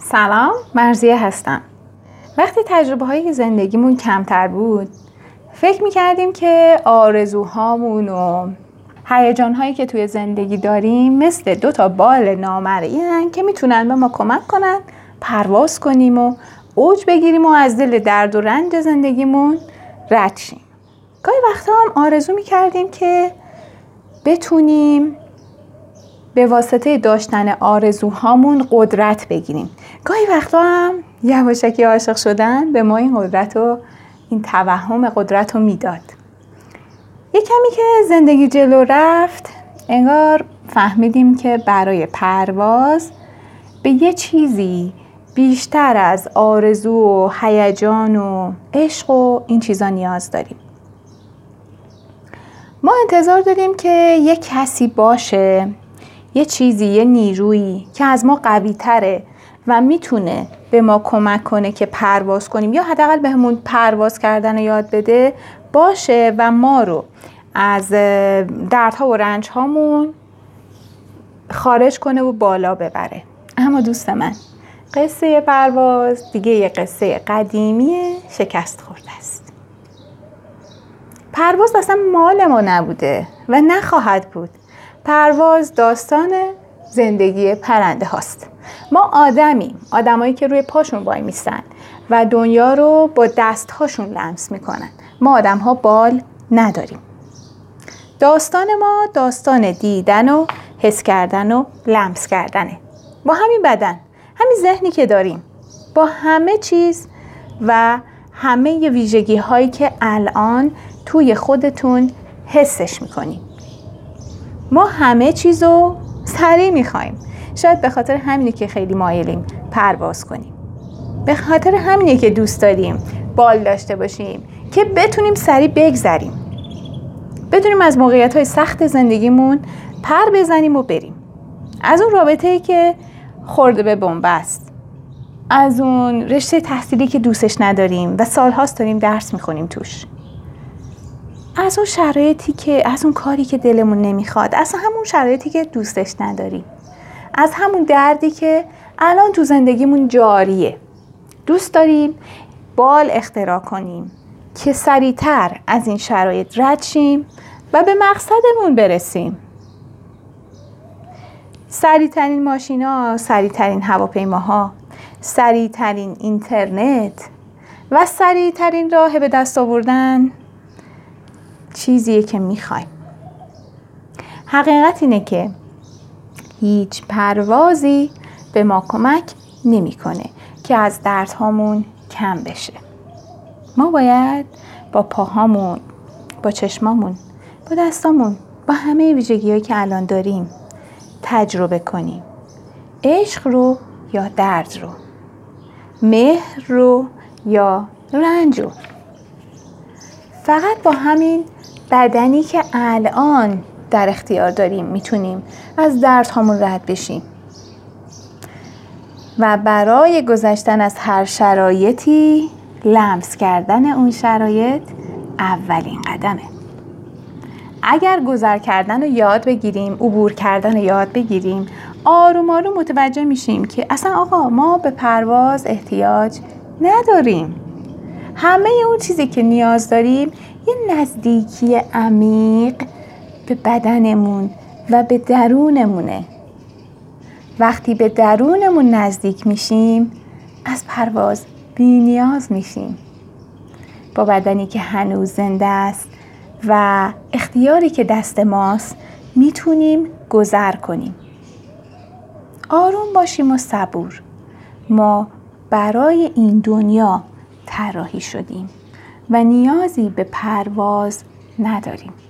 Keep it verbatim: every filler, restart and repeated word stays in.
سلام، مرضیه هستم. وقتی تجربه های زندگیمون کمتر بود فکر میکردیم که آرزوهامون و هیجان‌هایی که توی زندگی داریم مثل دو تا بال نامرئی هستن که میتونن به ما کمک کنن پرواز کنیم و اوج بگیریم و از دل درد و رنج زندگیمون رد شیم. گاهی وقتا هم آرزو میکردیم که بتونیم به واسطه داشتن آرزوهامون قدرت بگیریم. گاهی وقتا هم یواشکی عاشق شدن به ما این قدرت و این توهم قدرت رو میداد. یک کمی که زندگی جلو رفت انگار فهمیدیم که برای پرواز به یه چیزی بیشتر از آرزو و هیجان و عشق و این چیزا نیاز داریم. ما انتظار داریم که یه کسی باشه، یه چیزی، یه نیرویی که از ما قوی تره و میتونه به ما کمک کنه که پرواز کنیم یا حداقل بهمون پرواز کردن رو یاد بده باشه و ما رو از دردها و رنج هامون خارج کنه و بالا ببره. اما دوست من، قصه پرواز دیگه یه قصه قدیمی شکست خورده است. پرواز اصلا مال ما نبوده و نخواهد بود. پرواز داستان زندگی پرنده هاست. ما آدمیم، آدمایی که روی پاشون وای میستن و دنیا رو با دست هاشون لمس میکنن. ما آدم ها بال نداریم. داستان ما داستان دیدن و حس کردن و لمس کردنه. با همین بدن، همین ذهنی که داریم، با همه چیز و همه ویژگی هایی که الان توی خودتون حسش میکنیم. ما همه چیزو سریع میخوایم. شاید به خاطر همینه که خیلی مایلیم پرواز کنیم. به خاطر همینه که دوست داریم بال داشته باشیم که بتونیم سریع بگذریم. بتونیم از موقعیت‌های سخت زندگیمون پر بزنیم و بریم. از اون رابطه‌ای که خورده به بن‌بست. از اون رشته تحصیلی که دوستش نداریم و سال‌هاست داریم درس می‌خونیم توش. از اون شرایطی که از اون کاری که دلمون نمیخواد، از همون شرایطی که دوستش نداریم، از همون دردی که الان تو زندگیمون جاریه. دوست داریم بال اختراع کنیم که سریعتر از این شرایط رد شیم و به مقصدمون برسیم. سریعترین ماشینا، سریعترین هواپیماها، سریعترین اینترنت و سریعترین راه به دست آوردن چیزیه که میخوایم. حقیقت اینه که هیچ پروازی به ما کمک نمیکنه که از دردهامون کم بشه. ما باید با پاهامون، با چشمامون، با دستامون، با همه ویژگی‌هایی که الان داریم تجربه کنیم. عشق رو یا درد رو، مهر رو یا رنج رو. فقط با همین بدنی که الان در اختیار داریم میتونیم از دردهامون رد بشیم. و برای گذشتن از هر شرایطی لمس کردن اون شرایط اولین قدمه. اگر گذر کردن رو یاد بگیریم، عبور کردن رو یاد بگیریم، آروم آروم متوجه میشیم که اصلا آقا ما به پرواز احتیاج نداریم. همه اون چیزی که نیاز داریم یه نزدیکی عمیق به بدنمون و به درونمونه. وقتی به درونمون نزدیک میشیم از پرواز بی نیاز میشیم. با بدنی که هنوز زنده است و اختیاری که دست ماست میتونیم گذر کنیم. آروم باشیم و صبور. ما برای این دنیا طراحی شدیم و نیازی به پرواز نداریم.